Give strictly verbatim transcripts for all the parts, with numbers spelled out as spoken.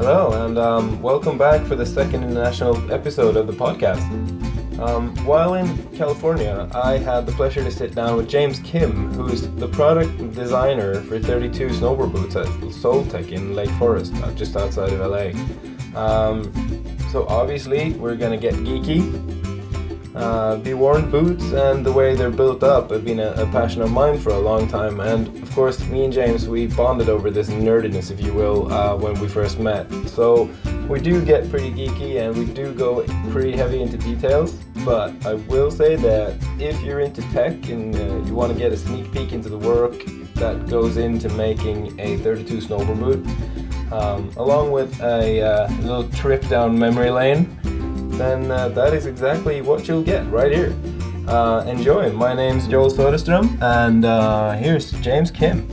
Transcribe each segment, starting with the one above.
Hello, and um, welcome back for the second international episode of the podcast. Um, while in California, I had the pleasure to sit down with James Kim, who is the product designer for thirty-two snowboard boots at Soltec in Lake Forest, uh, just outside of L A. Um, so obviously, we're gonna get geeky. Uh, Be Worn boots and the way they're built up have been a, a passion of mine for a long time, and of course me and James, we bonded over this nerdiness, if you will, uh, when we first met. So we do get pretty geeky and we do go pretty heavy into details, but I will say that if you're into tech and uh, you want to get a sneak peek into the work that goes into making a thirty-two snowboard boot, um, along with a uh, little trip down memory lane, then uh, that is exactly what you'll get right here. Uh, enjoy. My name's Joel Soderstrom, and uh, here's James Kim.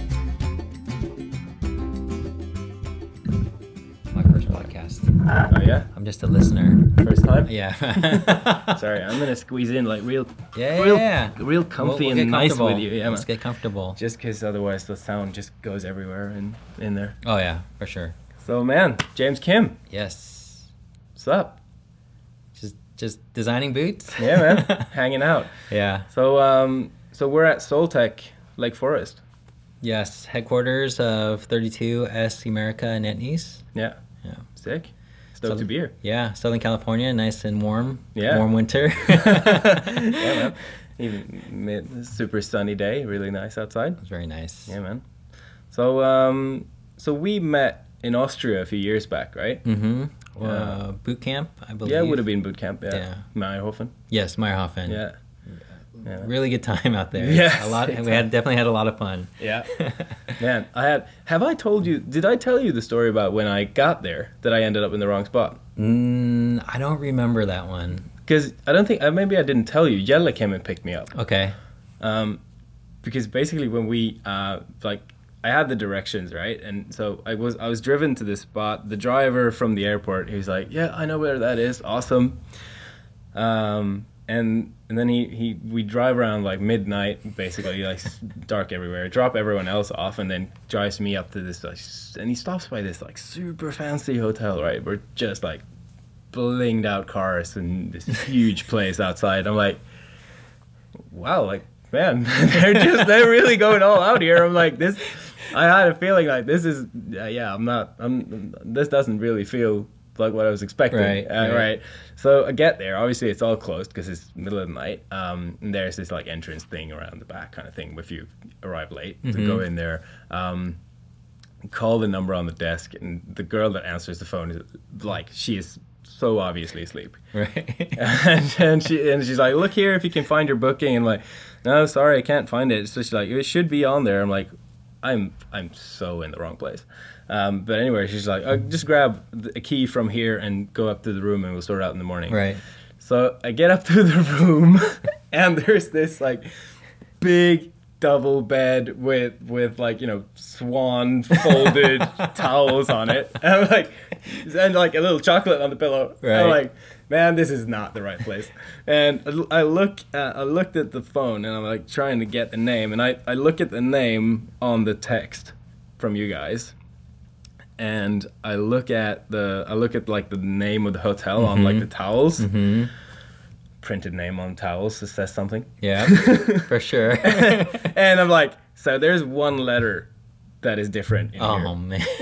My first podcast. Oh yeah? I'm just a listener. First time? Yeah. Sorry, I'm gonna squeeze in like real, Yeah, real, yeah. real comfy We'll- we'll and get nice comfortable. with you. Yeah, Let's man. get comfortable. Just because otherwise the sound just goes everywhere in, in there. Oh yeah, for sure. So man, James Kim, Yes. what's up? Just just designing boots. Yeah, man, hanging out. Yeah. So um, so we're at Soltec, Lake Forest. Yes. Headquarters of thirty-two S America in Etnies. Yeah. Yeah. Sick. Stoked to be here. Yeah. Southern California, nice and warm. Yeah. Warm winter. Yeah, man. Even mid, super sunny day, really nice outside. It was very nice. Yeah, man. So um, so we met in Austria a few years back, right? Mm-hmm. Yeah. Uh, boot camp, I believe. Yeah, it would have been boot camp. Yeah. Yeah. Meyerhofen. Yes, Meyerhofen. Yeah. Yeah. Really good time out there. Yes, A lot. big We had definitely had a lot of fun. Yeah. Man, I had. Have I told you? Did I tell you the story about when I got there that I ended up in the wrong spot? Mm, I don't remember that one. Because I don't think. uh, Maybe I didn't tell you. Jelle came and picked me up. Okay. Um, because basically when we uh, like I had the directions, right, and so I was I was driven to this spot. The driver from the airport, he was like, "Yeah, I know where that is. Awesome." Um, and and then he, he we drive around like midnight, basically like s- dark everywhere. Drop everyone else off, and then drives me up to this like, s- and he stops by this like super fancy hotel, right? We're just like blinged out cars and this huge place outside. I'm like, wow, like man, they're just they're really going all out here. I'm like this. I had a feeling like this is uh, yeah. I'm not. I'm. This doesn't really feel like what I was expecting. Right, Uh, right. right. So I get there. Obviously, it's all closed because it's middle of the night. Um, and there's this like entrance thing around the back, kind of thing. If you arrive late, to Mhm. go in there, um, call the number on the desk, and the girl that answers the phone is like she is so obviously asleep. Right. and, and she and she's like, "Look here, if you can find your booking." And I'm like, "No, sorry, I can't find it." So she's like, "It should be on there." I'm like, "I'm I'm so in the wrong place." Um, but anyway, she's like, oh, "Just grab the- a key from here and go up to the room, and we'll sort it out in the morning." Right. So I get up to the room, and there's this like big double bed with with like you know swan folded towels on it, and I'm like, and like a little chocolate on the pillow. Right. I'm like, man, this is not the right place. And I look, at, I looked at the phone, and I'm like trying to get the name, and I I look at the name on the text from you guys. And I look at the, I look at like the name of the hotel mm-hmm. on like the towels, Mm-hmm. printed name on towels that says something. Yeah, for sure. And I'm like, so there's one letter that is different in Oh here.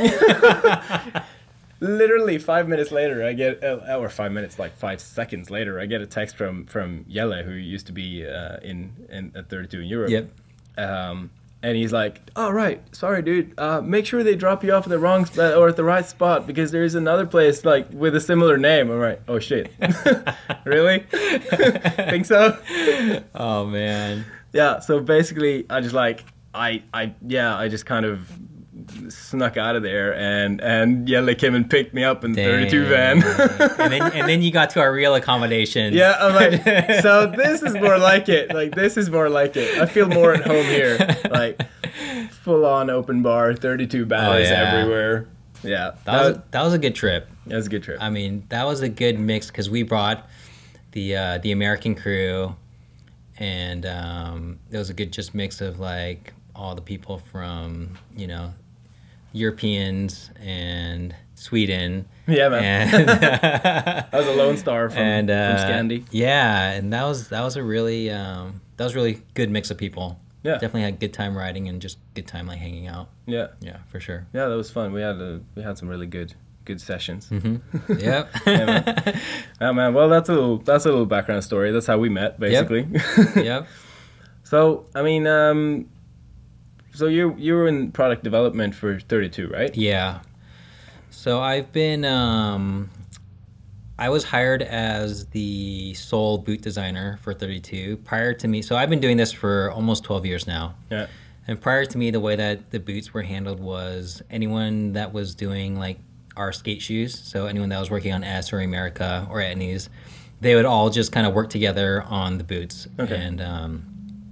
man. Literally five minutes later, I get, uh, or five minutes, like five seconds later, I get a text from from Jelle, who used to be uh, in in at thirty-two in Europe. Yep. Um, and he's like, "Oh right, sorry, dude. Uh, make sure they drop you off at the wrong spot or at the right spot because there's another place like with a similar name." I'm like, "Oh shit, really? Think so?" Oh man. Yeah. So basically, I just like, I, I, yeah, I just kind of snuck out of there, and and Jelle came and picked me up in the thirty-two van. and then and then you got to our real accommodations. Yeah, I'm like, so this is more like it. Like, this is more like it. I feel more at home here. Like, full-on open bar, thirty-two banners Oh, yeah. everywhere. Yeah. That was that was a good trip. that was a good trip. I mean, that was a good mix because we brought the uh, the American crew, and um, it was a good just mix of like all the people from you know Europeans and Sweden. Yeah, man. And, that was a Lone Star from, and, uh, from Scandi. Yeah, and that was that was a really um, that was a really good mix of people. Yeah, definitely had good time riding and just good time like hanging out. Yeah, yeah, for sure. Yeah, that was fun. We had a, we had some really good good sessions. Mm-hmm. Yep. Yeah, man. Oh, man. Well, that's a little that's a little background story. That's how we met, basically. Yep. Yep. So, I mean, um, so you you were in product development for thirty-two, right? Yeah. So I've been, um, I was hired as the sole boot designer for thirty-two prior to me. So I've been doing this for almost twelve years now. Yeah. And prior to me, the way that the boots were handled was anyone that was doing like our skate shoes, so anyone that was working on S or America or Etnies, they would all just kind of work together on the boots. Okay. And um,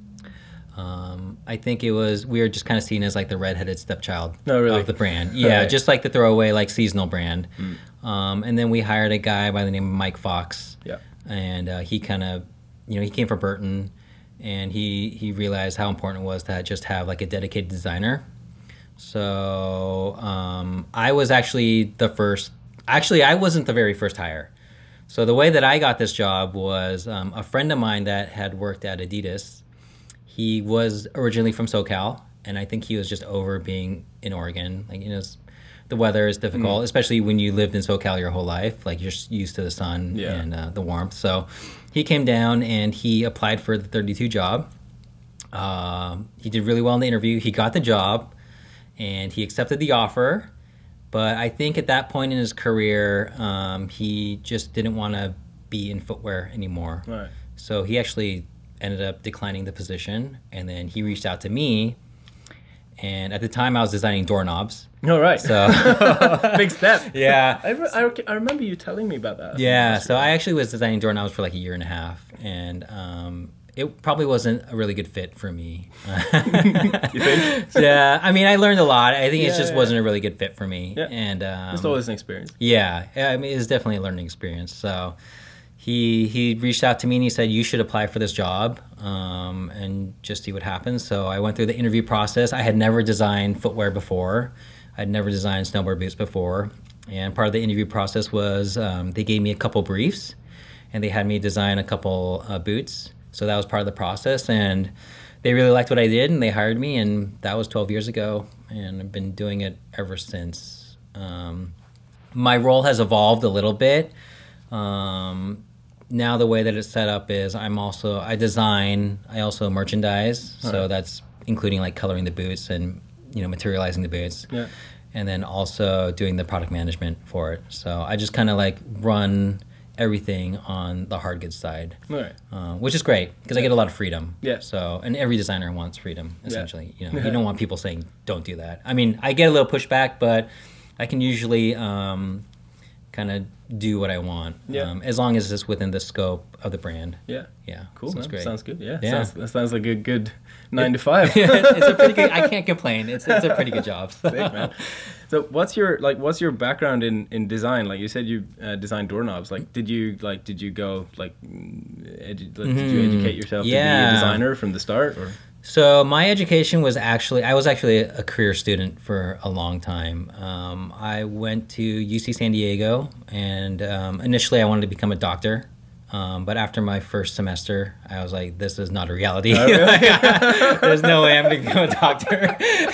um, I think it was, we were just kind of seen as like the redheaded stepchild oh, really? of the brand. Yeah, right. Just like the throwaway like seasonal brand. Mm. Um, and then we hired a guy by the name of Mike Fox. Yeah. And uh, he kind of, you know, he came from Burton, and he, he realized how important it was to just have like a dedicated designer. So um, I was actually the first, actually I wasn't the very first hire. So the way that I got this job was um, a friend of mine that had worked at Adidas. He was originally from SoCal, and I think he was just over being in Oregon. Like, you know, the weather is difficult, mm. especially when you lived in SoCal your whole life. Like, you're used to the sun yeah. and uh, the warmth. So he came down and he applied for the thirty-two job. Um, he did really well in the interview. He got the job, and he accepted the offer. But I think at that point in his career, um, he just didn't want to be in footwear anymore. Right. So he actually ended up declining the position, and then he reached out to me. And at the time, I was designing doorknobs. Oh, right. So big step. Yeah. I, re- I, I remember you telling me about that. Yeah. So I actually was designing doorknobs for like a year and a half, and um, it probably wasn't a really good fit for me. You think? Yeah. I mean, I learned a lot. I think yeah, it just yeah. wasn't a really good fit for me. Yeah. And um, it's always an experience. Yeah. I mean, it was definitely a learning experience. So he he reached out to me and he said, you should apply for this job um, and just see what happens. So I went through the interview process. I had never designed footwear before. I'd never designed snowboard boots before. And part of the interview process was um, they gave me a couple briefs, and they had me design a couple uh, boots. So that was part of the process, and they really liked what I did, and they hired me, and that was twelve years ago, and I've been doing it ever since. Um, my role has evolved a little bit. Um, now the way that it's set up is I'm also, I design, I also merchandise, All so right. that's including like coloring the boots and, you know, materializing the boots. Yeah. And then also doing the product management for it. So I just kind of like run everything on the hard goods side, Right. uh, which is great because Yeah. I get a lot of freedom. Yeah. So, and every designer wants freedom, essentially. Yeah. You know, you don't want people saying, don't do that. I mean, I get a little pushback, but I can usually um, kind of do what I want, Yeah. um, as long as it's within the scope of the brand. Yeah. Yeah. Cool. So it's Man. great. Sounds good. Yeah. Yeah. Sounds, that sounds like a good nine to five. It's a pretty good, I can't complain. It's it's a pretty good job. Sick, man. So what's your like what's your background in, in design? Like you said you uh, designed doorknobs. Like did you like did you go like, edu- like did you educate yourself to be Yeah. a designer from the start or? So my education was actually, I was actually a career student for a long time. Um, I went to U C San Diego, and um, initially I wanted to become a doctor. Um, but after my first semester, I was like, this is not a reality. Oh, really? There's no way I'm going to become a doctor.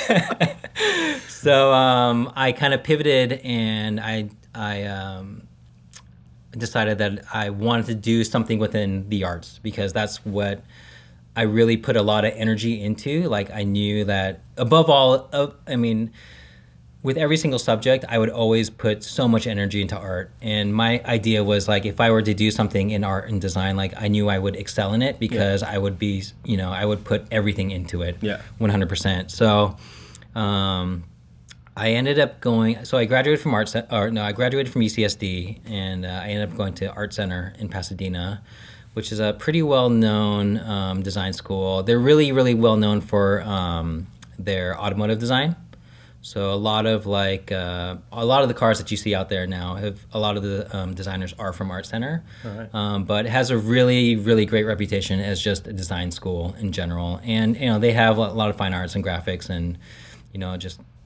So um, I kind of pivoted, and I, I um, decided that I wanted to do something within the arts, because that's what I really put a lot of energy into. Like, I knew that above all, uh, I mean, with every single subject, I would always put so much energy into art. And my idea was like, if I were to do something in art and design, like I knew I would excel in it, because yeah. I would be, you know, I would put everything into it. Yeah. one hundred percent. So, um, I ended up going, so I graduated from art, or no, I graduated from U C S D, and uh, I ended up going to Art Center in Pasadena, which is a pretty well-known um, design school. They're really, really well-known for um, their automotive design. So a lot of like uh, a lot of the cars that you see out there now have a lot of the um, designers are from Art Center. All right. Um, but it has a really, really great reputation as just a design school in general. And you know, they have a lot of fine arts and graphics, and you know, just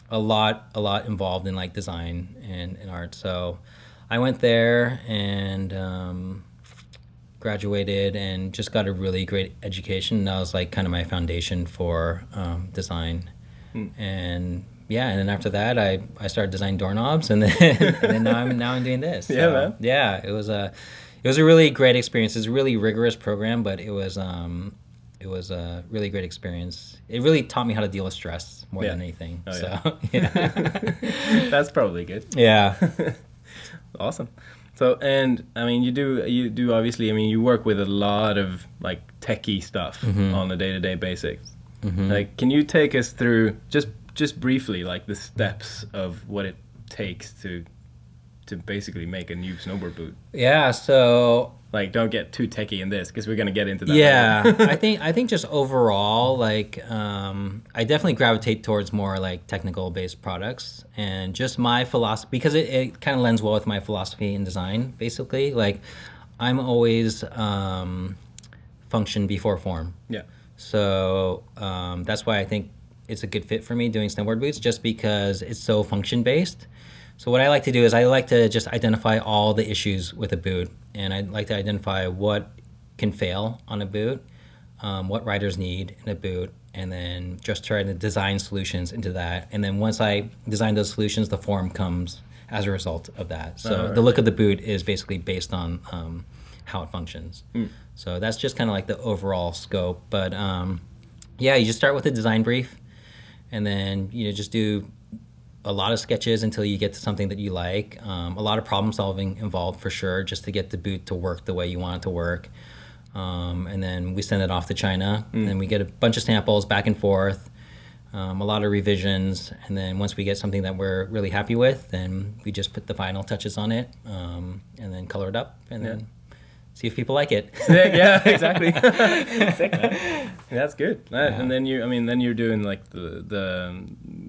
a lot a lot involved in like design and, and art. So I went there and um, graduated and just got a really great education. And that was like kind of my foundation for um, design. Mm. And yeah, and then after that, I, I started designing doorknobs, and then and then now I'm now I'm doing this. So, yeah, man. Yeah, it was a it was a really great experience. It's a really rigorous program, but it was um it was a really great experience. It really taught me how to deal with stress more yeah. than anything. Oh, so yeah, yeah. That's probably good. Yeah. Awesome. So, and I mean, you do you do obviously. I mean, you work with a lot of like techie stuff mm-hmm. on a day-to-day basis. Mm-hmm. Like, can you take us through just just briefly, like the steps of what it takes to to basically make a new snowboard boot? Yeah. So, like, don't get too techie in this because we're gonna get into that. Yeah, I think I think just overall, like, um, I definitely gravitate towards more like technical based products, and just my philosophy, because it, it kind of lends well with my philosophy in design. Basically, like, I'm always um, function before form. Yeah. So um, that's why I think it's a good fit for me doing snowboard boots, just because it's so function based. So what I like to do is I like to just identify all the issues with a boot, and I like to identify what can fail on a boot, um, what riders need in a boot, and then just try to design solutions into that. And then once I design those solutions, the form comes as a result of that. So right. the look of the boot is basically based on um, how it functions. Mm. So that's just kind of like the overall scope. But um, yeah, you just start with a design brief, and then you know just do a lot of sketches until you get to something that you like. Um, a lot of problem solving involved for sure, just to get the boot to work the way you want it to work. Um, and then we send it off to China, mm. and we get a bunch of samples back and forth, um, a lot of revisions. And then once we get something that we're really happy with, then we just put the final touches on it, um, and then color it up, and yeah. then see if people like it. Sick, yeah, exactly. Sick, man. That's good. Yeah. And then you, I mean, then you're doing like the the.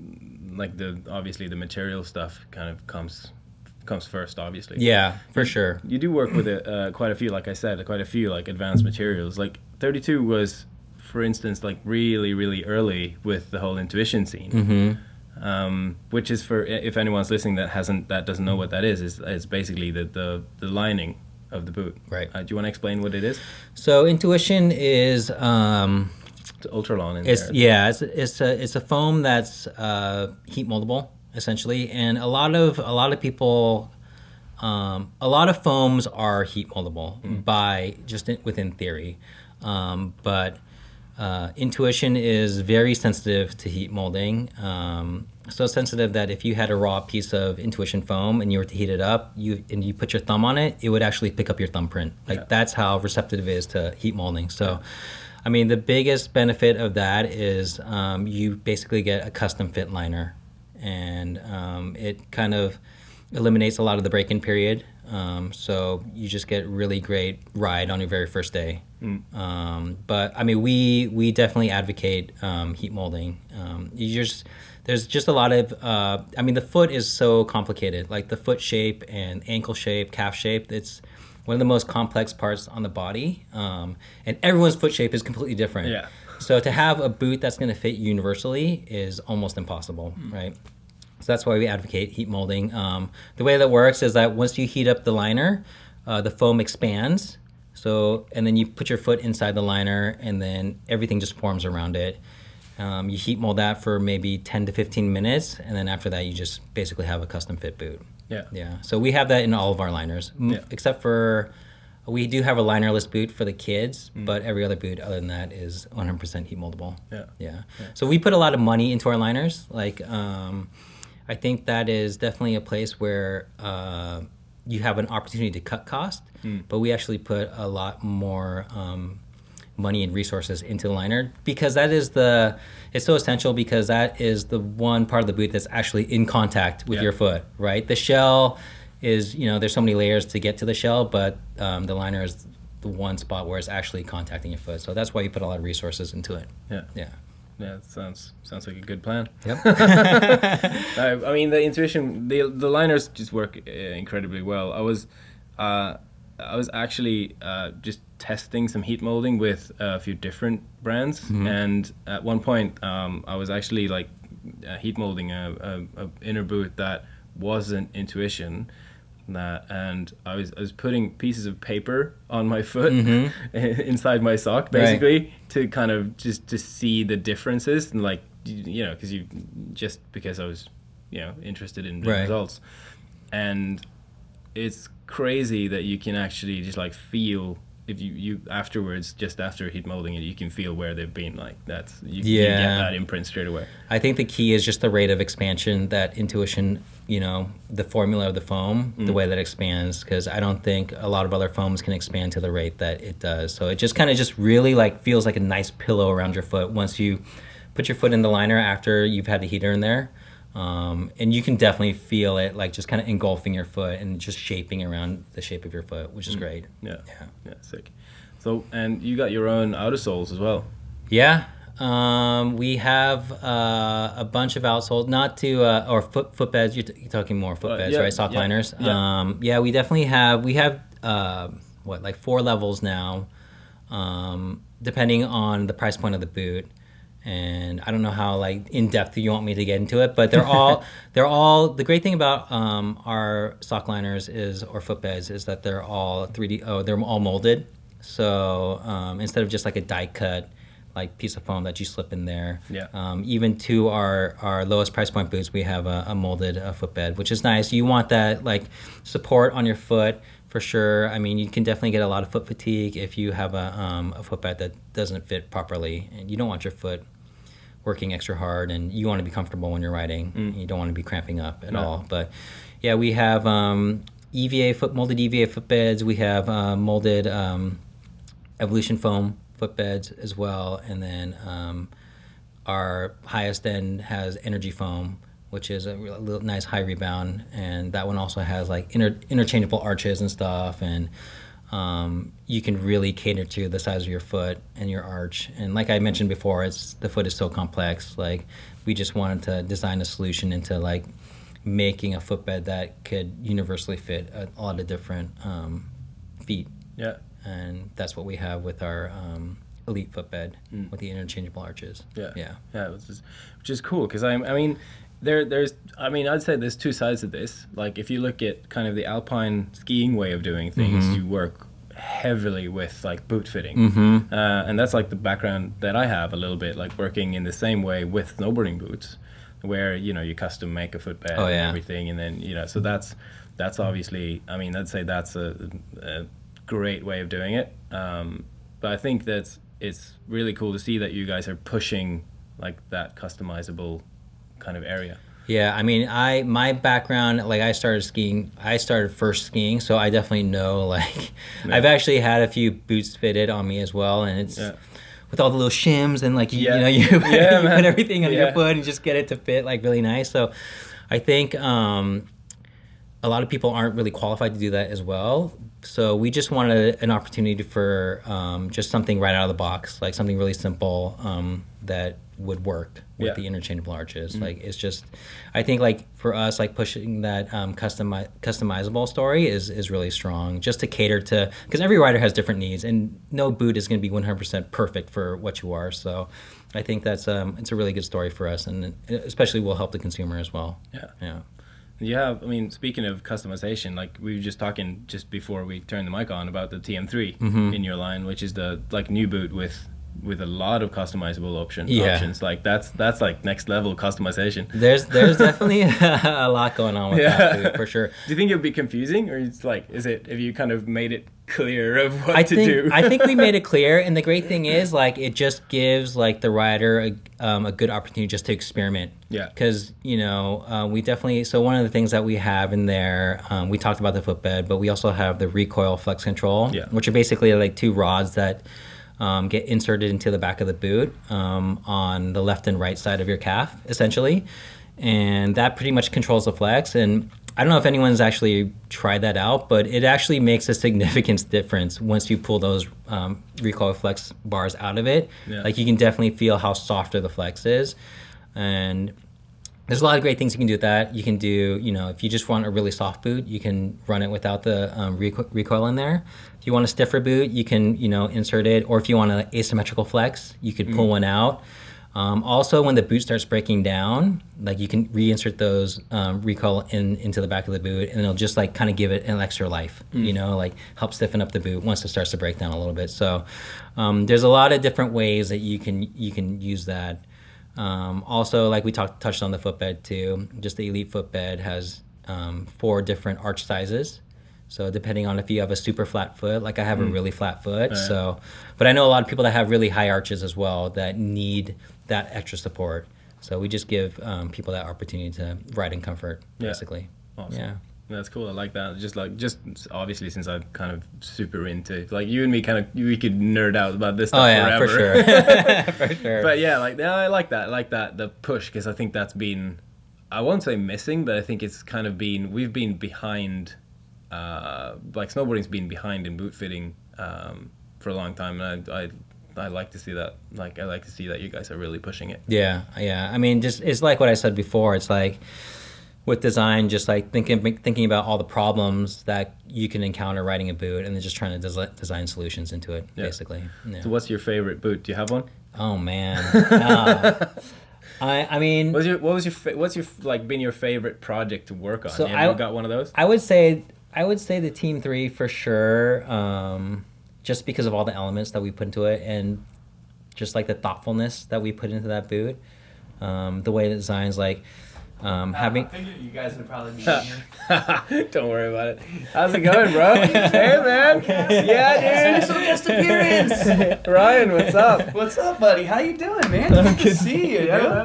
like the obviously the material stuff kind of comes comes first, obviously. Yeah, for sure. You do work with a, uh, quite a few, like I said, quite a few like advanced materials. Like thirty-two was, for instance, like really really early with the whole intuition scene, mm-hmm. um, which is, for if anyone's listening that hasn't that doesn't know what that is, is is basically the the, the lining of the boot. Right. Uh, do you want to explain what it is? So intuition is. Um, Ultralon in it's, there. Yeah, it's it's a it's a foam that's uh, heat moldable essentially, and a lot of a lot of people, um, a lot of foams are heat moldable mm. by just in, within theory, um, but uh, intuition is very sensitive to heat molding. Um, so sensitive that if you had a raw piece of intuition foam and you were to heat it up, you and you put your thumb on it, it would actually pick up your thumbprint. Like yeah. that's how receptive it is to heat molding. So. Yeah. I mean, the biggest benefit of that is um, you basically get a custom fit liner, and um, it kind of eliminates a lot of the break-in period. Um, so you just get really great ride on your very first day. Mm. Um, but I mean, we we definitely advocate um, heat molding. Um, you just there's just a lot of uh, I mean, the foot is so complicated. Like the foot shape and ankle shape, calf shape. It's one of the most complex parts on the body, um, and everyone's foot shape is completely different. Yeah. So to have a boot that's going to fit universally is almost impossible, mm. right? So that's why we advocate heat molding. Um, the way that works is that once you heat up the liner, uh, the foam expands. So and then you put your foot inside the liner, and then everything just forms around it. Um, you heat mold that for maybe ten to fifteen minutes, and then after that, you just basically have a custom fit boot. Yeah. Yeah. So we have that in all of our liners, yeah. except for we do have a linerless boot for the kids, mm. but every other boot other than that is one hundred percent heat moldable. Yeah. yeah. Yeah. So we put a lot of money into our liners. Like, um, I think that is definitely a place where uh, you have an opportunity to cut cost, mm. but we actually put a lot more um, money and resources into the liner, because that is the it's so essential, because that is the one part of the boot that's actually in contact with yeah. your foot, right? The shell is, you know, there's so many layers to get to the shell, but um, the liner is the one spot where it's actually contacting your foot. So that's why you put a lot of resources into it. Yeah. Yeah. Yeah, it sounds sounds like a good plan. Yep. I, I mean, the intuition, the the liners just work uh, incredibly well. I was, uh, I was actually uh, just testing some heat molding with a few different brands, mm-hmm. and at one point, um, I was actually like uh, heat molding a, a, a inner boot that wasn't Intuition. That, and I was I was putting pieces of paper on my foot mm-hmm. inside my sock, basically, right. to kind of just to see the differences, and like, you know, because you just because I was, you know, interested in the right. results, and it's crazy that you can actually just like feel if you, you afterwards, just after heat molding it, you can feel where they've been. Like that's you, yeah. you get that imprint straight away. I think the key is just the rate of expansion that Intuition, you know, the formula of the foam, mm. the way that it expands, because I don't think a lot of other foams can expand to the rate that it does. So it just kind of just really like feels like a nice pillow around your foot once you put your foot in the liner after you've had the heater in there. Um, and you can definitely feel it like just kind of engulfing your foot and just shaping around the shape of your foot, which is mm. great. Yeah. yeah, yeah, sick. So, and you got your own outer soles as well. Yeah, um, we have uh, a bunch of outsoles, not to uh, or foot footbeds. You're, t- you're talking more footbeds, uh, yeah, right? Sock yeah, liners. Yeah. Um, yeah, we definitely have. We have uh, what like four levels now, um, depending on the price point of the boot. And I don't know how like in depth you want me to get into it, but they're all they're all the great thing about um, our sock liners is or footbeds is that they're all three D. Oh, they're all molded. So um, instead of just like a die cut like piece of foam that you slip in there, yeah. Um, even to our, our lowest price point boots, we have a, a molded uh, footbed, which is nice. You want that like support on your foot for sure. I mean, you can definitely get a lot of foot fatigue if you have a um, a footbed that doesn't fit properly, and you don't want your foot working extra hard, and you want to be comfortable when you're riding. Mm. You don't want to be cramping up at no. all. But yeah, we have um, E V A foot molded E V A footbeds. We have uh, molded um, Evolution foam footbeds as well, and then um, our highest end has Energy foam, which is a real nice high rebound, and that one also has like inter- interchangeable arches and stuff, and um, you can really cater to the size of your foot and your arch. And like I mentioned before, it's the foot is so complex. Like we just wanted to design a solution into like making a footbed that could universally fit a, a lot of different um, feet. Yeah. And that's what we have with our um, Elite footbed mm. with the interchangeable arches. Yeah. Yeah. Yeah, which is, which is cool because I, I mean, there, there's, I mean, I'd say there's two sides of this. Like if you look at kind of the alpine skiing way of doing things, mm-hmm. you work heavily with like boot fitting, mm-hmm. uh, and that's like the background that I have a little bit, like working in the same way with snowboarding boots, where you know you custom make a footbed oh, yeah. and everything, and then you know, so that's that's obviously, I mean, I'd say that's a, a great way of doing it. Um, but I think that's it's really cool to see that you guys are pushing like that customizable kind of area. Yeah, I mean, I my background, like I started skiing, I started first skiing, so I definitely know, like, yeah. I've actually had a few boots fitted on me as well, and it's yeah. with all the little shims and like, you, yeah. you know, you, put, yeah, you put everything on yeah. your foot and just get it to fit like really nice. So I think um, a lot of people aren't really qualified to do that as well. So we just wanted an opportunity for um, just something right out of the box, like something really simple um, that would work with yeah. the interchangeable arches. Mm-hmm. Like it's just, I think like for us, like pushing that um, customi- customizable story is is really strong, just to cater to, because every rider has different needs, and no boot is going to be one hundred percent perfect for what you are. So I think that's um, it's a really good story for us, and especially will help the consumer as well. Yeah. Yeah. Yeah, I mean, speaking of customization, like we were just talking just before we turned the mic on about the T M three mm-hmm. in your line, which is the like new boot with with a lot of customizable option, yeah. options. Like that's that's like next level customization. There's there's definitely a lot going on with yeah. that boot, for sure. Do you think it'll be confusing, or it's like, is it, have you kind of made it clear of what I to think, do? I think we made it clear, and the great thing is like it just gives like the rider a, um, a good opportunity just to experiment. Yeah. Because, you know, uh, we definitely, so one of the things that we have in there, um, we talked about the footbed, but we also have the recoil flex control, yeah. which are basically like two rods that um, get inserted into the back of the boot um, on the left and right side of your calf, essentially. And that pretty much controls the flex. And I don't know if anyone's actually tried that out, but it actually makes a significant difference once you pull those um, recoil flex bars out of it. Yeah. Like you can definitely feel how softer the flex is. And there's a lot of great things you can do with that. You can do, you know, if you just want a really soft boot, you can run it without the um, reco- recoil in there. If you want a stiffer boot, you can, you know, insert it. Or if you want an asymmetrical flex, you could pull mm. one out. Um, also, when the boot starts breaking down, like you can reinsert those um, recoil in into the back of the boot, and it'll just like kind of give it an extra life. Mm. You know, like help stiffen up the boot once it starts to break down a little bit. So um, there's a lot of different ways that you can you can use that. Um, also, like we talked touched on the footbed too. Just the Elite footbed has um, four different arch sizes. So depending on if you have a super flat foot, like I have mm. a really flat foot. Right. So, but I know a lot of people that have really high arches as well that need that extra support. So we just give um, people that opportunity to ride in comfort, basically. Yeah. Awesome. Yeah. That's cool. I like that. Just like, just obviously since I'm kind of super into, like you and me kind of, we could nerd out about this stuff oh, yeah, forever. for sure. For sure. But yeah, like, yeah, I like that. I like that, the push, because I think that's been, I won't say missing, but I think it's kind of been, we've been behind, uh, like snowboarding's been behind in boot fitting um, for a long time. And I, I I like to see that. Like, I like to see that you guys are really pushing it. Yeah, yeah. I mean, just it's like what I said before. It's like with design, just like thinking thinking about all the problems that you can encounter riding a boot, and then just trying to des- design solutions into it, yeah. basically. Yeah. So, what's your favorite boot? Do you have one? Oh man. uh, I I mean, what's your what was your fa- what's your like been your favorite project to work on? So Have you I got one of those? I would say I would say the Team Three for sure. Um, just because of all the elements that we put into it and just like the thoughtfulness that we put into that boot. Um, the way the design's like um, having... I figured you guys would probably be here. Don't worry about it. How's it going, bro? Hey, man. Yeah, dude. Special guest appearance. Ryan, what's up? What's up, buddy? How you doing, man? Good to see you. Yeah.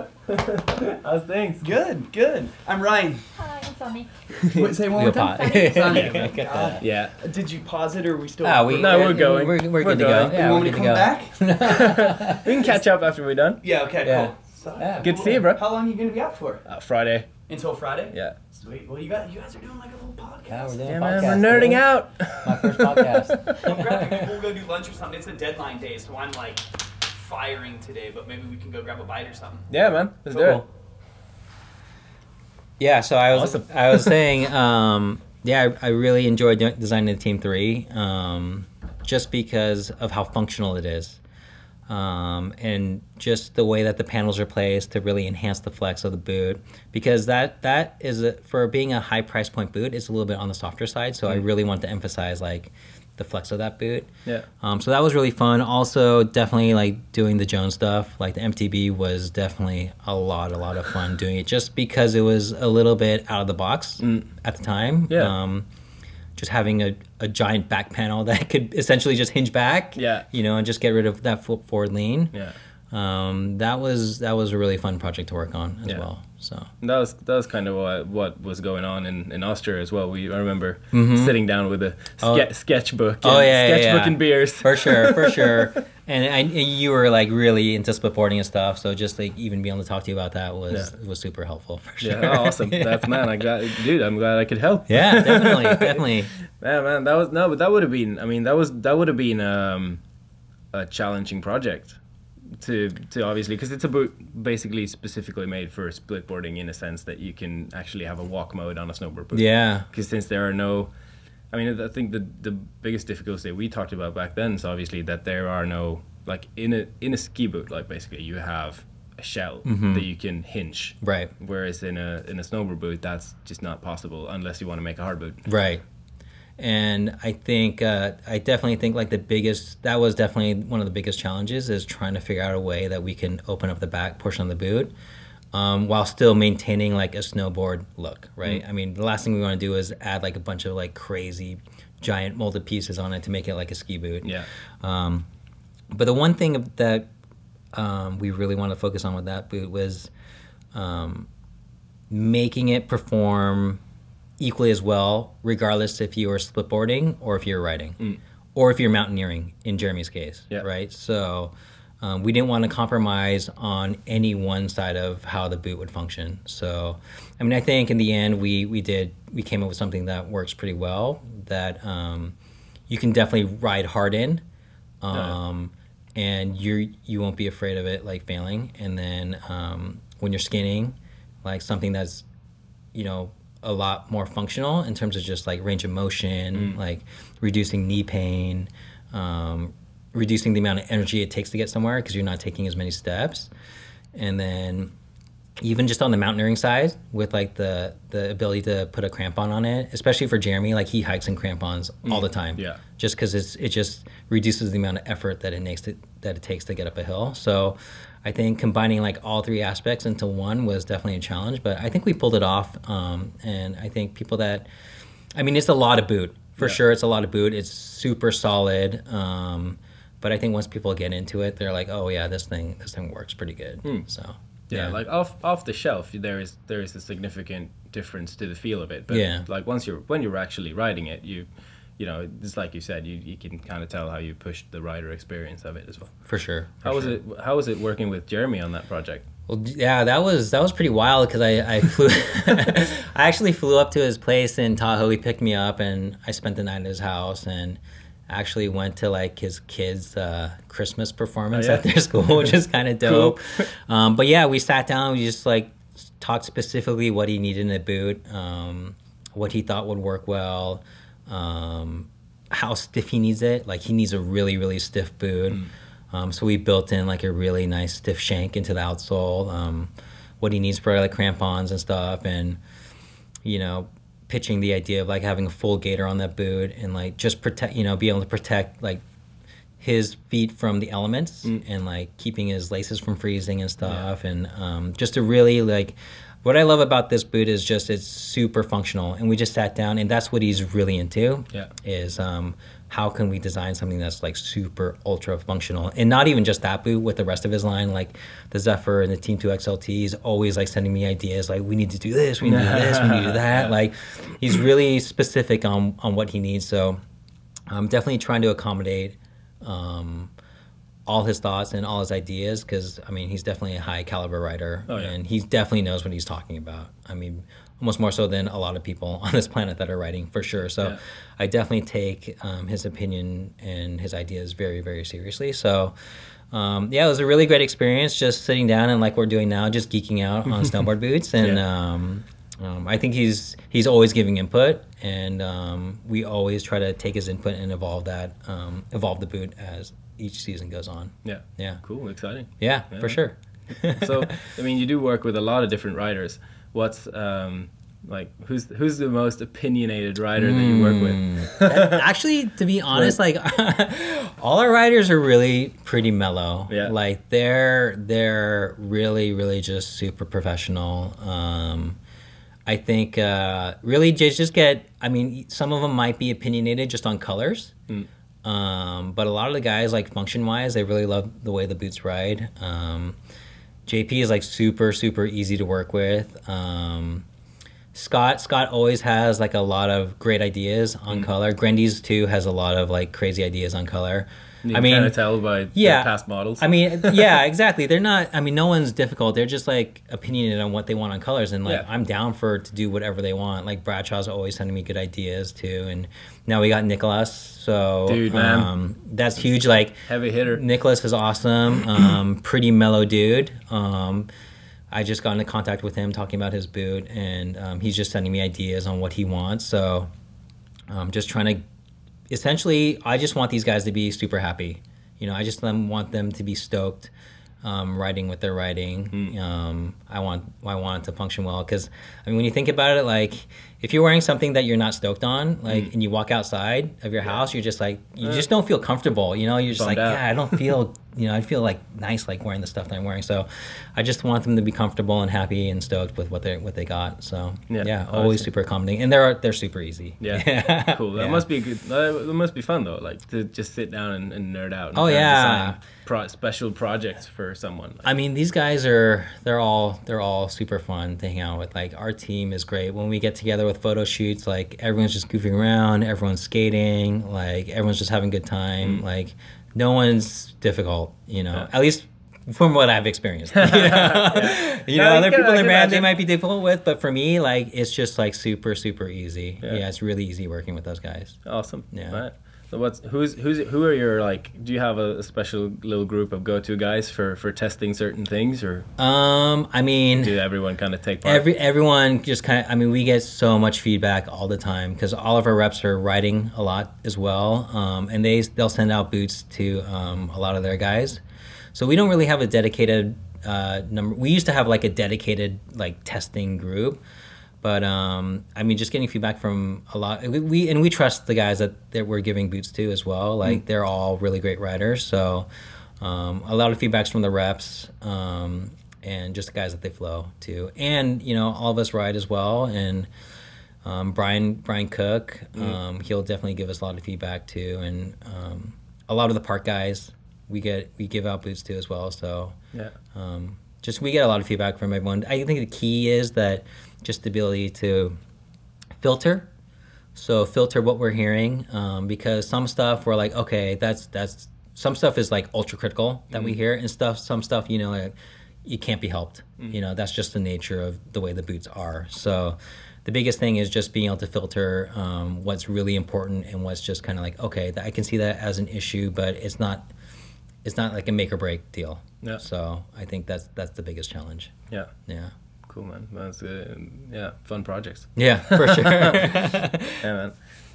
How's things? Good, good. I'm Ryan. Hi, I'm Sonny. Wait, say one more time. Sonny. Sonny. Yeah, get that. Yeah. Did you pause it or are we still? Ah, we, No, we're going. We're, we're, We're good to going. go. Yeah, you want we're me to good come to back? We can catch up after we're done. Yeah. Okay. Yeah. Cool. So, Yeah. Good to see you, bro. How long are you gonna be out for? Uh, Friday. Until Friday. Yeah. Sweet. Well, you got you guys are doing like a little podcast. Yeah, we're doing Yeah, a man. podcast. We're nerding dude. out. My first podcast. Come grab me. We'll go do lunch or something. It's a deadline day, so I'm like firing today. But maybe we can go grab a bite or something. Yeah, man. Let's do Cool. it. Yeah, so I was Awesome. I was saying, um, yeah, I, I really enjoyed de- designing the Team Three, um, just because of how functional it is, um, and just the way that the panels are placed to really enhance the flex of the boot. Because that that is a, for being a high price point boot, it's a little bit on the softer side. So mm. I really want to emphasize like the flex of that boot. Yeah. Um, so that was really fun. Also, definitely like doing the Jones stuff. Like the M T B was definitely a lot, a lot of fun doing it, just because it was a little bit out of the box mm. at the time. Yeah. Um, just having a, a giant back panel that could essentially just hinge back. Yeah. You know, and just get rid of that forward lean. Yeah. Um, that was that was a really fun project to work on as Yeah. well. So That was that was kind of what, what was going on in, in Austria as well. We I remember Mhm. sitting down with a ske- Oh. sketchbook. And Oh, yeah, yeah, sketchbook yeah. and beers. for sure, for sure. And I, and you were like really into splitboarding and stuff, so just like even being able to talk to you about that was Yeah. was super helpful for sure. Yeah, oh, awesome. That's man. I got dude. I'm glad I could help. Yeah, definitely, definitely. Man, man, that was no, but that would have been. I mean, that was that would have been um, a challenging project to to obviously because it's a boot basically specifically made for splitboarding in a sense that you can actually have a walk mode on a snowboard boot. Yeah. Because since there are no, I mean, I think the the biggest difficulty we talked about back then is obviously that there are no like in a in a ski boot like basically you have a shell Mhm. that you can hinge. Right. Whereas in a in a snowboard boot that's just not possible unless you want to make a hard boot. Right. And I think uh, I definitely think like the biggest that was definitely one of the biggest challenges is trying to figure out a way that we can open up the back portion of the boot um, while still maintaining like a snowboard look, right? Mm. I mean, the last thing we want to do is add like a bunch of like crazy giant molded pieces on it to make it like a ski boot. Yeah. Um, but the one thing that um, we really want to focus on with that boot was um, making it perform equally as well, regardless if you are splitboarding or if you're riding, Mm. or if you're mountaineering. In Jeremy's case, Yeah. right? So um, we didn't want to compromise on any one side of how the boot would function. So, I mean, I think in the end we we did we came up with something that works pretty well. That um, you can definitely ride hard in, um, and you you won't be afraid of it like failing. And then um, when you're skinning, like something that's you know. a lot more functional in terms of just like range of motion, Mm. like reducing knee pain, um, reducing the amount of energy it takes to get somewhere because you're not taking as many steps. and then even just on the mountaineering side with like the the ability to put a crampon on it, especially for Jeremy, like he hikes in crampons mm. all the time. Yeah. Just because it's it just reduces the amount of effort that it makes to, that it takes to get up a hill. So I think combining like all three aspects into one was definitely a challenge, but I think we pulled it off. Um, and I think people that, I mean, it's a lot of boot for yeah. sure. It's a lot of boot. It's super solid. Um, but I think once people get into it, they're like, oh yeah, this thing this thing works pretty good. Mm. So. Yeah, yeah, like off off the shelf, there is there is a significant difference to the feel of it. But yeah. like once you're when you're actually riding it, you you know, it's like you said, you, you can kind of tell how you pushed the rider experience of it as well. For sure. For how sure. was it? How was it working with Jeremy on that project? Well, yeah, that was that was pretty wild because I I flew, I actually flew up to his place in Tahoe. He picked me up and I spent the night at his house and. Actually went to like his kids' uh, Christmas performance oh, yeah? at their school, which is kind of dope. Cool. Um, but yeah, we sat down. We just like talked specifically what he needed in a boot, um, what he thought would work well, um, how stiff he needs it. Like he needs a really really stiff boot. Mm. Um, so we built in like a really nice stiff shank into the outsole. Um, what he needs for like crampons and stuff, and you know. Pitching the idea of like having a full gaiter on that boot and like just protect, you know, be able to protect like his feet from the elements mm. and like keeping his laces from freezing and stuff. Yeah. And um, just to really like, what I love about this boot is just it's super functional. And we just sat down and that's what he's really into yeah. is um, how can we design something that's like super ultra functional and not even just that boot with the rest of his line, like the Zephyr and the Team two X L T is always like sending me ideas like we need to do this, we need to do this, we need to do that. Like he's really specific on, on what he needs. So I'm definitely trying to accommodate um, all his thoughts and all his ideas because I mean he's definitely a high caliber rider oh, yeah. and he definitely knows what he's talking about. I mean almost more so than a lot of people on this planet that are writing for sure. So yeah. I definitely take um, his opinion and his ideas very, very seriously. So um, yeah, it was a really great experience just sitting down and like we're doing now, just geeking out on snowboard boots. And yeah. um, um, I think he's he's always giving input and um, we always try to take his input and evolve that, um, evolve the boot as each season goes on. Yeah. Yeah. Cool. Exciting. Yeah, yeah. for sure. So, I mean, you do work with a lot of different riders. What's um like who's who's the most opinionated rider that you work with? That, actually, to be honest, like all our riders are really pretty mellow. Yeah. Like they're they're really really just super professional. Um, I think uh, really just just get. I mean, some of them might be opinionated just on colors. Mm. Um, but a lot of the guys, like function wise, they really love the way the boots ride. Um, J P is like super, super easy to work with. Um, Scott, Scott always has like a lot of great ideas on mm. color. Grendy's too has a lot of like crazy ideas on color. You I mean, kind of tell by yeah, past models. I mean, yeah, exactly. They're not. I mean, no one's difficult. They're just like opinionated on what they want on colors, and like yeah. I'm down for to do whatever they want. Like Bradshaw's always sending me good ideas too, and now we got Nicholas. So dude, man, um, that's huge. Like heavy hitter. Nicholas is awesome. Um, pretty mellow dude. Um, I just got into contact with him talking about his boot, and um, he's just sending me ideas on what he wants. So I'm just trying to. Essentially, I just want these guys to be super happy. You know, I just them, want them to be stoked um, riding what they're riding. Mm. Um, I want I want it to function well because, I mean, when you think about it, like, if you're wearing something that you're not stoked on, like, mm. and you walk outside of your house, you're just like, you uh, just don't feel comfortable, you know? You're just like, out. yeah, I don't feel, you know, I feel like nice, like wearing the stuff that I'm wearing. So I just want them to be comfortable and happy and stoked with what they what they got. So yeah, yeah always super accommodating, and they're they're super easy. Yeah, yeah. Cool. That yeah. must be good. That must be fun though, like to just sit down and, and nerd out. And oh yeah. Pro- special projects for someone. Like, I mean, these guys are they're all they're all super fun to hang out with. Like our team is great when we get together with photo shoots. Like everyone's just goofing around, everyone's skating, like everyone's just having a good time. Mm. Like no one's difficult, you know. Yeah. At least from what I've experienced. You know, yeah. you know, other people in the band they might be difficult with, but for me, like it's just like super super easy. Yeah, yeah it's really easy working with those guys. Awesome. Yeah. All right. So what's who's who's who are your like? Do you have a, a special little group of go-to guys for, for testing certain things, or um, I mean, do everyone kind of take part? Every everyone just kind of. I mean, we get so much feedback all the time because all of our reps are riding a lot as well, um, and they they'll send out boots to um, a lot of their guys. So we don't really have a dedicated uh, number. We used to have like a dedicated like testing group, but um, I mean, just getting feedback from a lot. We, we and we trust the guys that, that we're giving boots to as well. Like mm. they're all really great riders, so um, a lot of feedbacks from the reps um, and just the guys that they flow to, and you know, all of us ride as well, and. Um, Brian Brian Cook, um, mm. he'll definitely give us a lot of feedback too, and um, a lot of the park guys we get we give out boots to as well. So yeah, um, just we get a lot of feedback from everyone. I think the key is that just the ability to filter, so filter what we're hearing, um, because some stuff we're like, okay, that's that's some stuff is like ultra critical that mm. we hear, and stuff some stuff you know like, it can't be helped. Mm. You know, that's just the nature of the way the boots are. So. The biggest thing is just being able to filter um, what's really important and what's just kind of like, okay, I can see that as an issue, but it's not it's not like a make or break deal. Yeah. So I think that's that's the biggest challenge. Yeah. Yeah. Cool, man. That's uh, yeah, fun projects. Yeah, for sure. Yeah, man.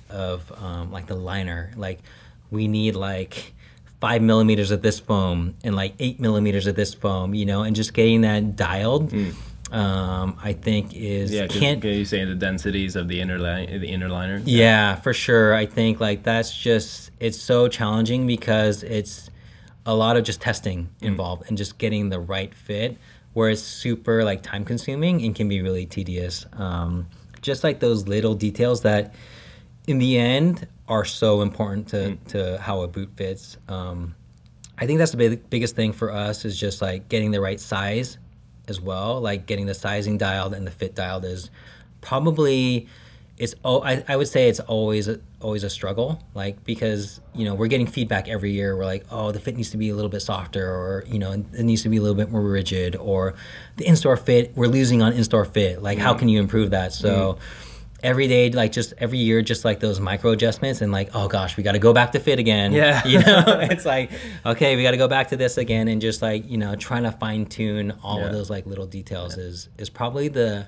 Of um, like the liner, like we need like five millimeters of this foam and like eight millimeters of this foam, you know, and just getting that dialed. Mm. Um, I think is yeah. Can't can you say the densities of the inner line, the inner liner? Yeah. yeah, for sure. I think like that's just it's so challenging because it's a lot of just testing involved mm. and just getting the right fit. Where it's super like time consuming and can be really tedious. Um, just like those little details that, in the end, are so important to mm. to how a boot fits. Um, I think that's the big, biggest thing for us is just like getting the right size. As well, like getting the sizing dialed and the fit dialed is probably it's oh I, I would say it's always a, always a struggle, like because you know we're getting feedback every year. We're like, oh, the fit needs to be a little bit softer, or you know it needs to be a little bit more rigid, or the in-store fit we're losing on in-store fit. Like, mm. how can you improve that? So. Mm. Every day, like just every year, just like those micro adjustments and like, oh gosh, we got to go back to fit again. Yeah. You know, it's like, okay, we got to go back to this again. And just like, you know, trying to fine tune all yeah. of those like little details yeah. is, is probably the,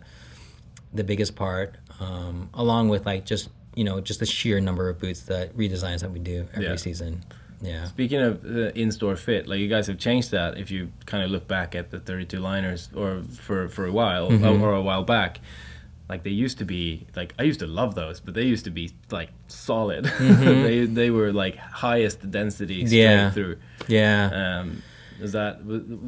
the biggest part, um, along with like just, you know, just the sheer number of boots that redesigns that we do every yeah. season. Yeah. Speaking of uh, in-store fit, like you guys have changed that. If you kind of look back at the thirty-two liners or for, for a while mm-hmm. or a while back, like they used to be like I used to love those, but they used to be like solid. Mm-hmm. they they were like highest density straight yeah. through. Yeah. Um, is that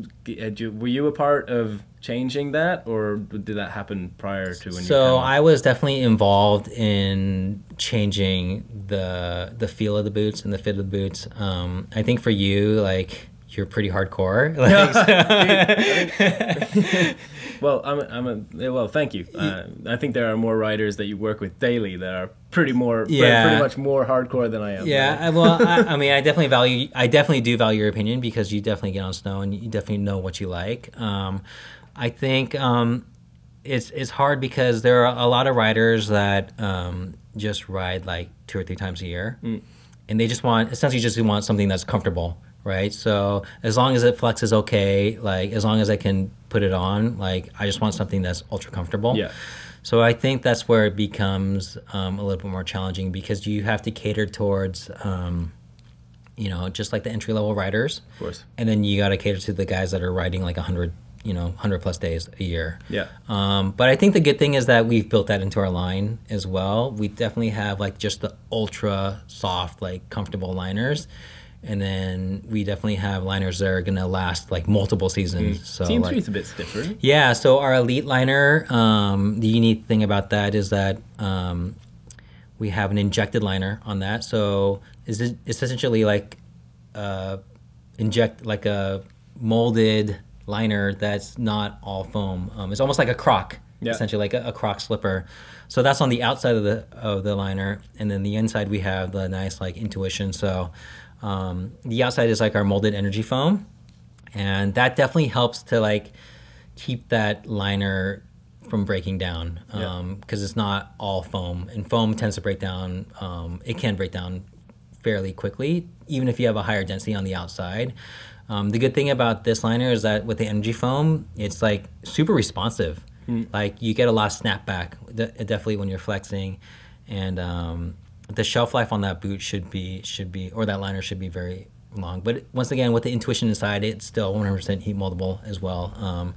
were you a part of changing that, or did that happen prior to when? So you I was definitely involved in changing the the feel of the boots and the fit of the boots. Um, I think for you, like. You're pretty hardcore. Like, so. Well, I'm a, I'm a well. Thank you. Uh, I think there are more riders that you work with daily that are pretty more, yeah. pretty much more hardcore than I am. Yeah. Well, I, I mean, I definitely value. I definitely do value your opinion because you definitely get on snow and you definitely know what you like. Um, I think um, it's it's hard because there are a lot of riders that um, just ride like two or three times a year, mm. and they just want essentially just want something that's comfortable. Right, so as long as it flexes okay, like as long as I can put it on, like I just want something that's ultra comfortable. Yeah. So I think that's where it becomes um, a little bit more challenging because you have to cater towards, um, you know, just like the entry level riders. Of course. And then you got to cater to the guys that are riding like a hundred, you know, hundred plus days a year. Yeah. Um, but I think the good thing is that we've built that into our line as well. We definitely have like just the ultra soft, like comfortable liners. And then we definitely have liners that are going to last like multiple seasons. Mm. So Team like, three is a bit stiffer. Yeah, so our elite liner, um, the unique thing about that is that um, we have an injected liner on that. So it's, it's essentially like uh, inject like a molded liner that's not all foam. Um, it's almost like a croc, yeah. essentially like a, a croc slipper. So that's on the outside of the of the liner, and then the inside we have the nice like Intuition. So. Um, the outside is like our molded energy foam, and that definitely helps to like keep that liner from breaking down because um, yeah. it's not all foam, and foam tends to break down. Um, it can break down fairly quickly, even if you have a higher density on the outside. Um, the good thing about this liner is that with the energy foam, it's like super responsive. Mm. Like you get a lot of snapback, definitely when you're flexing, and um, the shelf life on that boot should be should be or that liner should be very long. But once again, with the Intuition inside, it's still one hundred percent heat moldable as well. Um,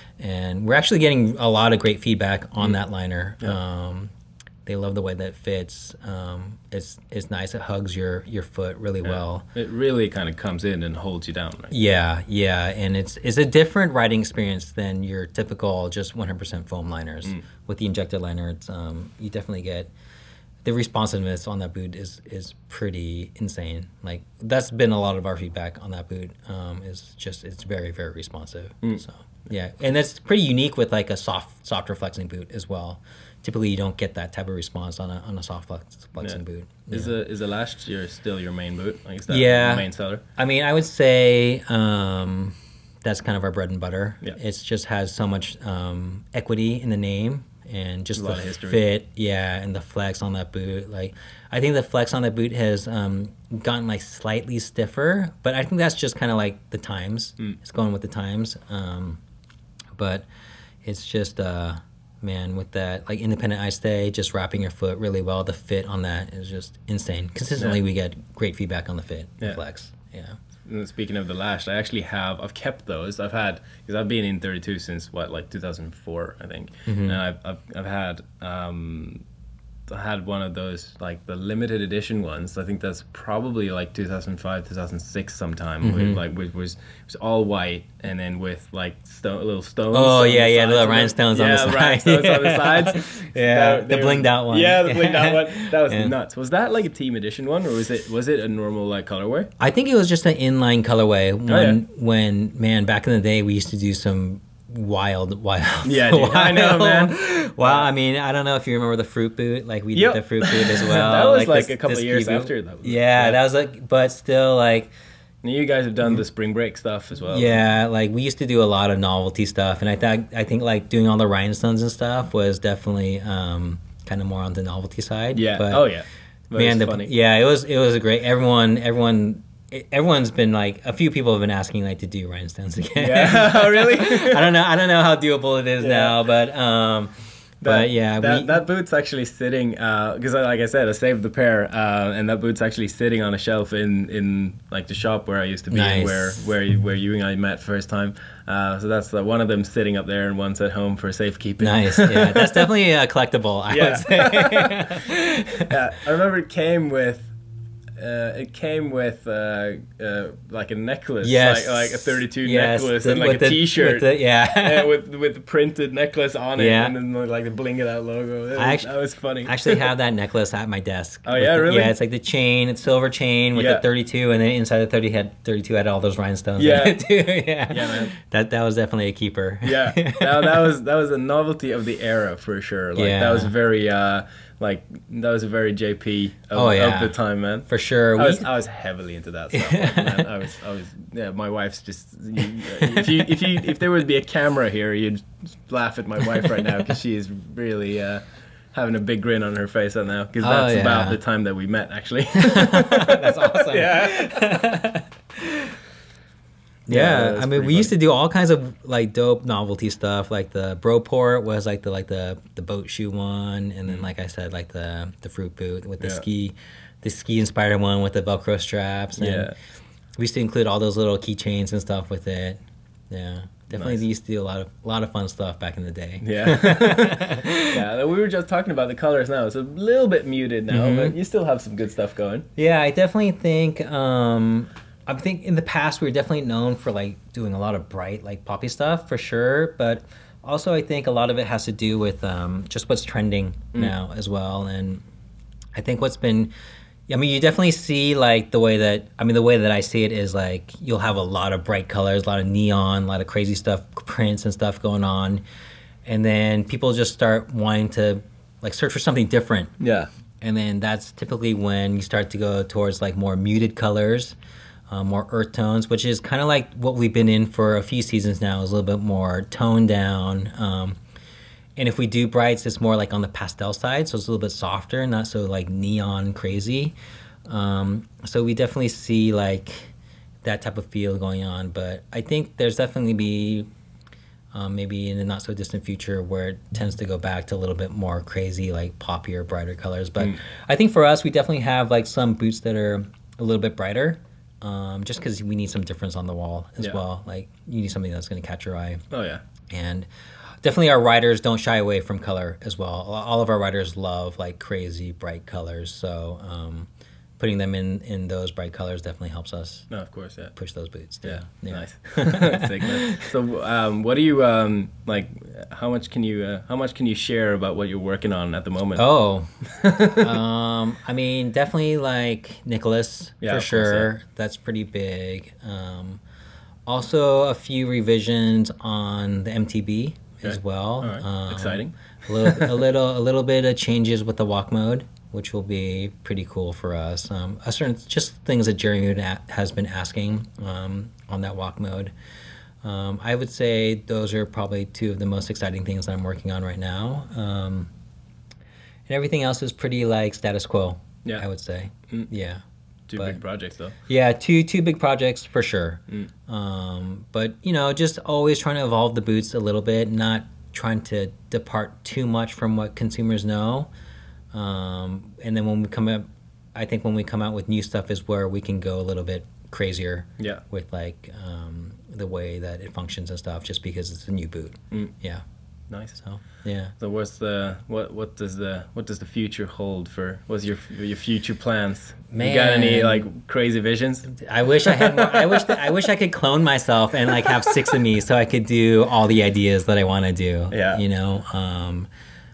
and we're actually getting a lot of great feedback on mm. that liner. Yeah. Um, they love the way that it fits. Um, it's it's nice. It hugs your, your foot really yeah. well. It really kind of comes in and holds you down. Right? Yeah, yeah. And it's it's a different riding experience than your typical just one hundred percent foam liners. Mm. With the injector liner, it's um, you definitely get the responsiveness on that boot is is pretty insane. Like that's been a lot of our feedback on that boot. Um, is just it's very very responsive. Mm. So yeah, and that's pretty unique with like a soft softer flexing boot as well. Typically, you don't get that type of response on a on a soft flex, flexing yeah. boot. Is yeah. the is the Lash your still your main boot? Like, is that yeah, the main seller? I mean, I would say um, that's kind of our bread and butter. Yeah. It just has so much um, equity in the name and just a the lot of history. fit, yeah, and the flex on that boot. Like, I think the flex on that boot has um, gotten like slightly stiffer, but I think that's just kind of like the times. Mm. It's going with the times, um, but it's just. Uh, Man, with that like independent eye stay, just wrapping your foot really well, the fit on that is just insane. Consistently, yeah. we get great feedback on the fit, yeah. the flex. Yeah. And speaking of the Lash, I actually have I've kept those. I've had because I've been in thirty-two since what like two thousand four, I think, mm-hmm. and I've I've, I've had um, I had one of those like the limited edition ones. I think that's probably like two thousand five, two thousand six sometime. Mm-hmm. With, like with, was it was all white and then with like stone, little stones. Oh yeah, yeah, the little rhinestones on yeah, the sides. rhinestones on the sides. yeah, the blinged out one. Yeah, the blinged out one. That was yeah. nuts. Was that like a team edition one, or was it was it a normal like colorway? I think it was just an inline colorway. When oh, yeah. when man, back in the day, we used to do some. Wild, wild. Yeah, dude, wild. I know, man. Well, I mean, I don't know if you remember the fruit boot. Like we yep. did the fruit boot as well. that was like, like this, a couple of years after that. Yeah, yeah, that was like, but still, like. You guys have done the spring break stuff as well. Yeah, like we used to do a lot of novelty stuff, and I thought I think like doing all the rhinestones and stuff was definitely um, kind of more on the novelty side. Yeah. But, oh yeah. That man, the, funny. yeah, it was it was a great. Everyone, everyone. Everyone's been like a few people have been asking like to do rhinestones again. Yeah, really? I don't know. I don't know how doable it is yeah. now, but um, that, but yeah, that, we, that boot's actually sitting because, uh, like I said, I saved the pair, uh, and that boot's actually sitting on a shelf in, in like the shop where I used to be, nice. and where where you, where you and I met first time. Uh, so that's uh, one of them sitting up there, and one's at home for safekeeping. Nice, yeah, that's definitely a collectible. I yeah. would say. yeah, I remember it came with. Uh, it came with uh, uh, like a necklace, yes. like, like a thirty-two yes. necklace, the, and like a the, T-shirt, the, yeah, yeah, with with the printed necklace on it, yeah. and then like the bling it out logo. That, I was, actually, that was funny. I actually have that necklace at my desk. Oh yeah, the, really? Yeah, it's like the chain, it's silver chain with yeah. the thirty-two, and then inside the thirty had thirty-two had all those rhinestones. Yeah, in it too. yeah, yeah, man. That that was definitely a keeper. yeah, that, that was that was a novelty of the era for sure. Like yeah. that was very. Uh, Like that was a very J P of, oh, yeah. of the time, man. For sure. I was, I was heavily into that stuff. Like, man. I was, I was. Yeah, my wife's just. You, if you, if you, if there would be a camera here, you'd laugh at my wife right now because she is really uh, having a big grin on her face right now because that's oh, yeah. about the time that we met, actually. That's awesome. Yeah. Yeah, yeah, I mean, we funny. used to do all kinds of like dope novelty stuff. Like the Broport was like the like the the boat shoe one, and then like I said, like the the fruit boot with the yeah. ski, the ski inspired one with the Velcro straps. And yeah, we used to include all those little keychains and stuff with it. Yeah, definitely nice. used to do a lot of a lot of fun stuff back in the day. Yeah, yeah. We were just talking about the colors now. It's a little bit muted now, mm-hmm. but you still have some good stuff going. Yeah, I definitely think. Um, I think in the past we were definitely known for like doing a lot of bright like poppy stuff for sure, but also I think a lot of it has to do with um, just what's trending mm. now as well. And I think what's been, I mean, you definitely see like the way that, I mean, the way that I see it is like you'll have a lot of bright colors, a lot of neon, a lot of crazy stuff, prints and stuff going on, and then people just start wanting to like search for something different. Yeah. And then that's typically when you start to go towards like more muted colors. Uh, more earth tones, which is kind of like what we've been in for a few seasons now, is a little bit more toned down. Um, and if we do brights, it's more like on the pastel side, so it's a little bit softer, not so like neon crazy. Um, so we definitely see like that type of feel going on. But I think there's definitely be um, maybe in the not so distant future where it tends to go back to a little bit more crazy, like poppier, brighter colors. But mm. I think for us, we definitely have like some boots that are a little bit brighter. um, just because we need some difference on the wall as Yeah. well. Like you need something that's going to catch your eye. Oh yeah. And definitely our riders don't shy away from color as well. All of our riders love like crazy bright colors. So um, putting them in, in those bright colors definitely helps us No, of course, yeah. push those boots. too. Yeah, Yeah. nice. Sick, man. So, um, what do you um, like? How much can you uh, how much can you share about what you're working on at the moment? Oh, um, I mean, definitely like Nicholas Yeah, for of course, sure. yeah. That's pretty big. Um, also, a few revisions on the M T B as Okay. well. All right. Um, Exciting. A little, a little, a little bit of changes with the walk mode, which will be pretty cool for us. Um, a certain just things that Jeremy would a- has been asking um, on that walk mode. Um, I would say those are probably two of the most exciting things that I'm working on right now. Um, and everything else is pretty like status quo. Yeah. I would say. Mm. Yeah. Two but- big projects though. Yeah, two two big projects for sure. Mm. Um, but you know, just always trying to evolve the boots a little bit, not trying to depart too much from what consumers know. Um, and then when we come up, I think when we come out with new stuff is where we can go a little bit crazier Yeah. with like um, the way that it functions and stuff, just because it's a new boot. Mm. Yeah. Nice. So yeah. So what's the what what does the what does the future hold for what's your your future plans? You got any Man. like crazy visions? I wish I had more. I wish that I wish I could clone myself and like have six of me, so I could do all the ideas that I want to do. Yeah. You know. Um,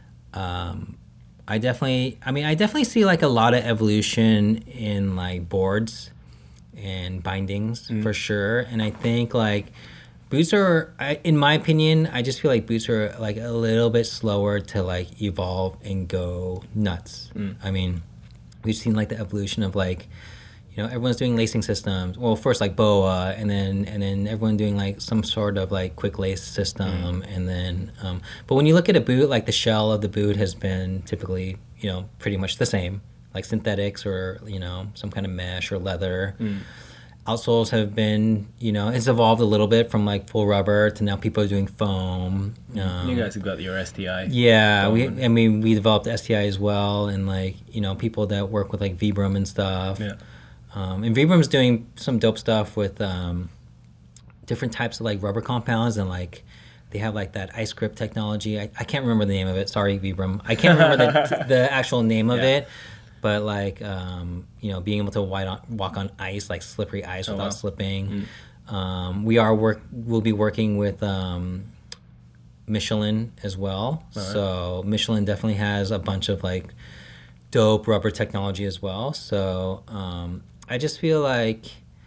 um, I definitely. I mean, I definitely see like a lot of evolution in like boards and bindings for sure, and I think like boots are, I, in my opinion, I just feel like boots are like a little bit slower to like evolve and go nuts. I mean, we've seen like the evolution of like, you know, everyone's doing lacing systems. Well, first like B O A, and then and then everyone doing like some sort of like quick lace system, and then. Um, but when you look at a boot, like the shell of the boot has been typically, you know, pretty much the same, like synthetics or you know some kind of mesh or leather. Outsoles have been, you know, it's evolved a little bit from like full rubber to now people are doing foam. Um, You guys have got your S T I. yeah, we. foam. I mean, we developed S T I as well, and like you know, people that work with like Vibram and stuff. Yeah. Um, and Vibram's doing some dope stuff with um, different types of like rubber compounds, and like they have like that ice grip technology. I, I can't remember the name of it. Sorry, Vibram. I can't remember the the actual name of Yeah. it. But like um, you know, being able to wide on, walk on ice, like slippery ice, Oh, without wow. slipping. Um, we are work. We'll be working with um, Michelin as well. right. So Michelin definitely has a bunch of like dope rubber technology as well. So um, I just feel like,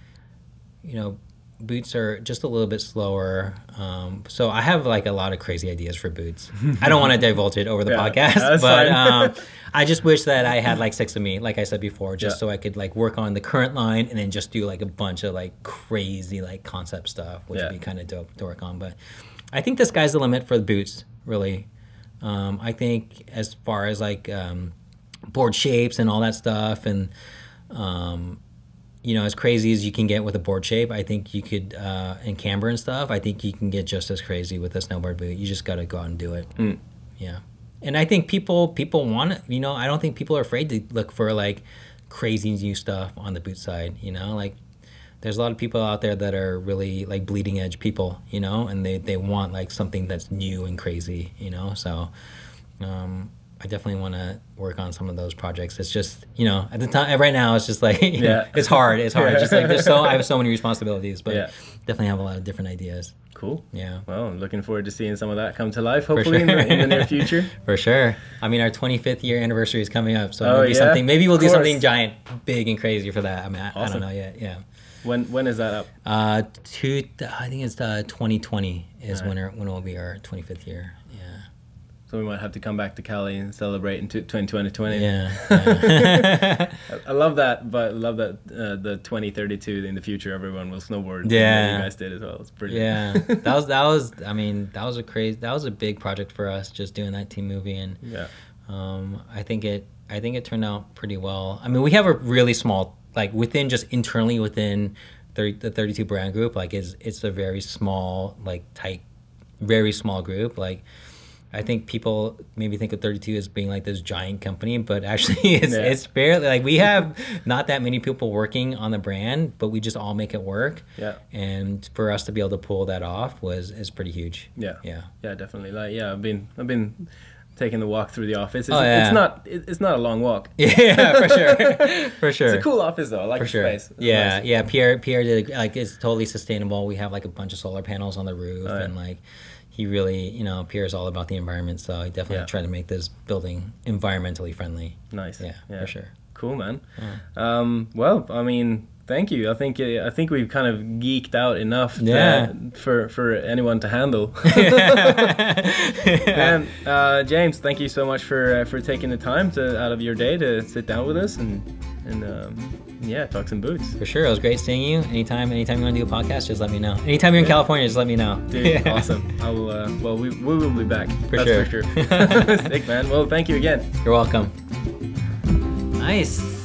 you know, boots are just a little bit slower. Um, so I have like a lot of crazy ideas for boots. I don't want to divulge it over the Yeah, podcast, that's but fine. um, I just wish that I had like six of me, like I said before, just Yeah. so I could like work on the current line and then just do like a bunch of like crazy like concept stuff, which Yeah. would be kind of dope to work on. But I think the sky's the limit for the boots, really. Um, I think as far as like um, board shapes and all that stuff, and um, you know, as crazy as you can get with a board shape, I think you could, uh, and camber and stuff, I think you can get just as crazy with a snowboard boot. You just got to go out and do it. Mm. Yeah. And I think people people want it. You know, I don't think people are afraid to look for like crazy new stuff on the boot side. You know, like there's a lot of people out there that are really like bleeding edge people. You know, and they they want like something that's new and crazy. You know, so um, I definitely want to work on some of those projects. It's just, you know, at the time right now, it's just like Yeah. it's hard. It's hard. It's just like there's so I have so many responsibilities, but Yeah. definitely have a lot of different ideas. Cool. Yeah. Well, I'm looking forward to seeing some of that come to life, hopefully in, sure. the, in the near future. For sure. I mean, our twenty-fifth year anniversary is coming up, so Oh, maybe yeah? something. Maybe we'll Of do course. something giant, big, and crazy for that. I mean, I, I Awesome. don't know yet. Yeah. When when is that up? Uh, two. I think it's uh, twenty twenty is Alright. when our, when it will be our twenty-fifth year. Yeah. So we might have to come back to Cali and celebrate in twenty twenty. Yeah. yeah. I I love that, but I love that uh, the twenty thirty-two in the future, everyone will snowboard. Yeah. Like you guys did as well. It's brilliant. yeah. That was that was. I mean, that was a crazy. That was a big project for us, just doing that team movie, and Yeah. um, I think it. I think it turned out pretty well. I mean, we have a really small, like within just internally within thirty, the thirty-two brand group, like it's it's a very small, like tight, very small group. Like I think people maybe think of thirty-two as being like this giant company, but actually it's Yeah. it's fairly like we have not that many people working on the brand, but we just all make it work. Yeah. And for us to be able to pull that off was is pretty huge. Yeah. Yeah. Yeah, definitely. Like, yeah, I've been, I've been taking the walk through the office. It's, Oh, yeah. it's not, it, it's not a long walk. Yeah, for sure. For sure. It's a cool office though. I like For the sure. space. It's Yeah, nice. yeah. Pierre, Pierre did like it's totally sustainable. We have like a bunch of solar panels on the roof, Oh, yeah. and like he really, you know, Pierre's all about the environment. So he definitely Yeah. tried to make this building environmentally friendly. Nice. Yeah, for sure. Cool, man. Um, well, I mean, thank you. I think uh, I think we've kind of geeked out enough to- Yeah. for for anyone to handle. And uh, James, thank you so much for uh, for taking the time to out of your day to sit down with us and and um, yeah, talk some boots. For sure, it was great seeing you. Anytime, anytime you want to do a podcast, just let me know. Anytime you're in California, just let me know. Dude, Yeah. awesome. I will. Uh, well, we we will be back. For That's sure. for sure. Sick, man. Well, thank you again. You're welcome. Nice.